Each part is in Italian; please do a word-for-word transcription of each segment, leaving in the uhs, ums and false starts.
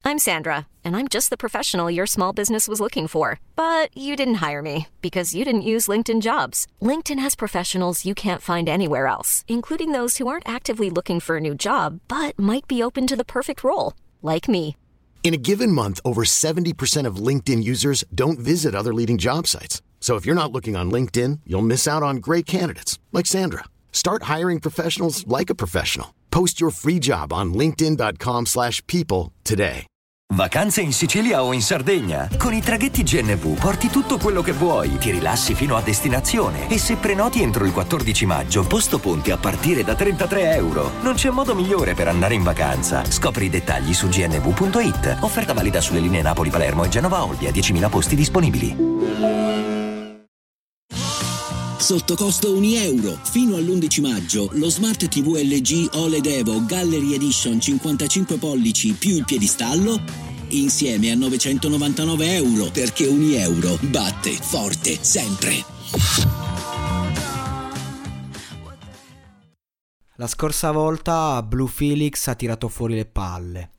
I'm Sandra, and I'm just the professional your small business was looking for. But you didn't hire me because you didn't use LinkedIn Jobs. LinkedIn has professionals you can't find anywhere else, including those who aren't actively looking for a new job, but might be open to the perfect role, like me. In a given month, over seventy percent of LinkedIn users don't visit other leading job sites. So if you're not looking on LinkedIn, you'll miss out on great candidates like Sandra. Start hiring professionals like a professional. Post your free job on linkedin.com slash people today. Vacanze in Sicilia o in Sardegna? Con i traghetti G N V porti tutto quello che vuoi, ti rilassi fino a destinazione e se prenoti entro il quattordici maggio, posto ponti a partire da trentatré euro. Non c'è modo migliore per andare in vacanza. Scopri i dettagli su g n v punto i t. Offerta valida sulle linee Napoli-Palermo e Genova-Olbia, diecimila posti disponibili. Sotto costo un euro. Fino all'undici maggio lo Smart tivù L G O L E D Evo Gallery Edition cinquantacinque pollici più il piedistallo insieme a novecentonovantanove euro, perché un euro batte forte sempre. La scorsa volta Blue Felix ha tirato fuori le palle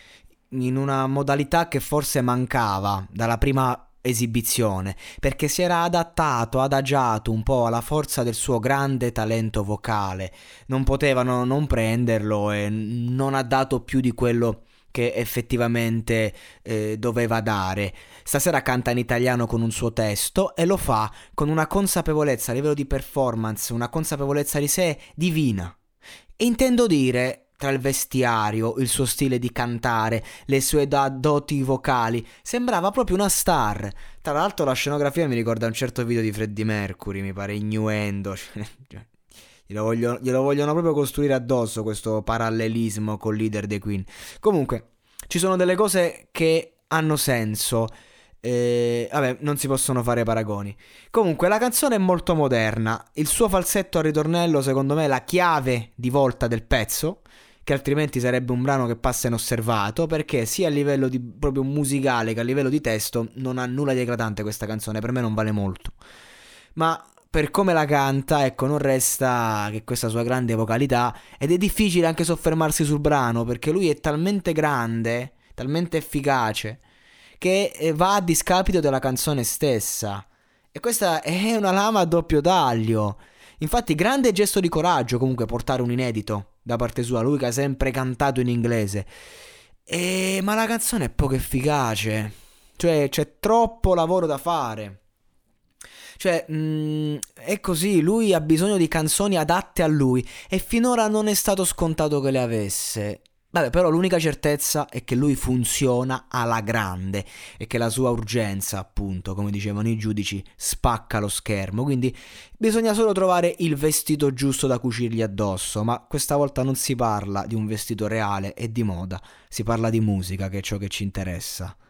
in una modalità che forse mancava dalla prima esibizione, perché si era adattato, adagiato un po' alla forza del suo grande talento vocale. Non potevano non prenderlo e non ha dato più di quello che effettivamente eh, doveva dare. Stasera canta in italiano con un suo testo e lo fa con una consapevolezza a livello di performance, una consapevolezza di sé divina. E intendo dire, tra il vestiario, il suo stile di cantare, le sue da- doti vocali, sembrava proprio una star. Tra l'altro la scenografia mi ricorda un certo video di Freddie Mercury, mi pare Innuendo. glielo, voglio, glielo vogliono proprio costruire addosso questo parallelismo col leader dei Queen. Comunque, ci sono delle cose che hanno senso. Eh, vabbè, non si possono fare paragoni. Comunque la canzone è molto moderna. Il suo falsetto al ritornello secondo me è la chiave di volta del pezzo, che altrimenti sarebbe un brano che passa inosservato, perché sia a livello di proprio musicale che a livello di testo non ha nulla di eclatante questa canzone, per me non vale molto. Ma per come la canta, ecco, non resta che questa sua grande vocalità, ed è difficile anche soffermarsi sul brano perché lui è talmente grande, talmente efficace, che va a discapito della canzone stessa. E questa è una lama a doppio taglio. Infatti grande gesto di coraggio comunque portare un inedito da parte sua, lui che ha sempre cantato in inglese. E... ma la canzone è poco efficace, cioè c'è troppo lavoro da fare. Cioè mh, è così, lui ha bisogno di canzoni adatte a lui e finora non è stato scontato che le avesse. Vabbè, però l'unica certezza è che lui funziona alla grande e che la sua urgenza, appunto, come dicevano i giudici, spacca lo schermo. Quindi bisogna solo trovare il vestito giusto da cucirgli addosso, ma questa volta non si parla di un vestito reale e di moda, si parla di musica, che è ciò che ci interessa.